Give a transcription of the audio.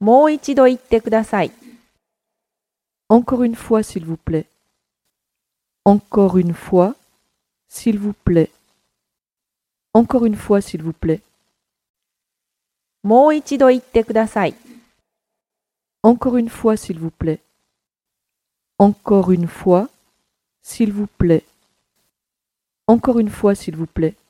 もう一度言ってください。 Encore une fois, s'il vous plaît. Encore une fois, s'il vous plaît. Encore une fois, s'il vous plaît. もう一度言ってください。 Encore une fois, s'il vous plaît. Encore une fois, s'il vous plaît. Encore une fois, s'il vous plaît.